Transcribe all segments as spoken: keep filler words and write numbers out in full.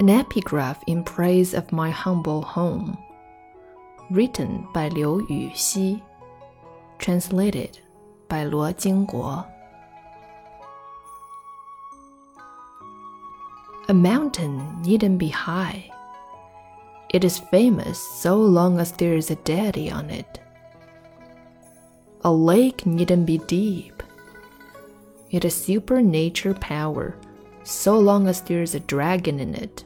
An epigraph in praise of my humble home, written by Liu Yuxi, translated by Luo Jingguo. A mountain needn't be high. It is famous so long as there is a deity on it. A lake needn't be deep. It is supernatural power so long as there is a dragon in it.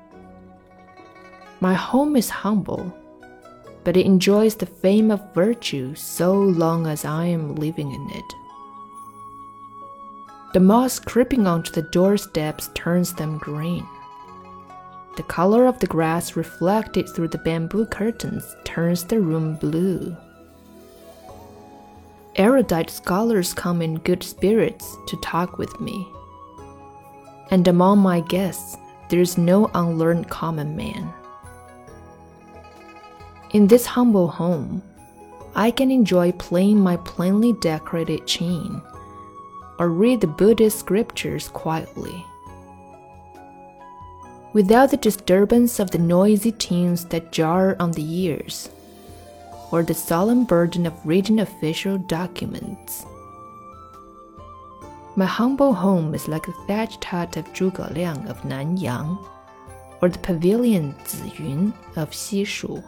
My home is humble, but it enjoys the fame of virtue so long as I am living in it. The moss creeping onto the doorsteps turns them green. The color of the grass reflected through the bamboo curtains turns the room blue. Erudite scholars come in good spirits to talk with me. And among my guests, there is no unlearned common man. In this humble home, I can enjoy playing my plainly decorated chain or read the Buddhist scriptures quietly, without the disturbance of the noisy tunes that jar on the ears, or the solemn burden of reading official documents. My humble home is like the thatched hut of Zhuge Liang of Nanyang, or the pavilion Ziyun of Xishu.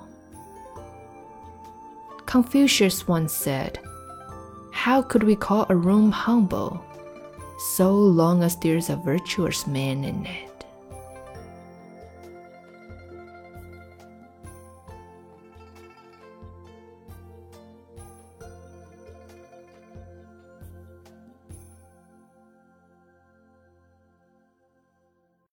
Confucius once said, "How could we call a room humble, so long as there is a virtuous man in it?"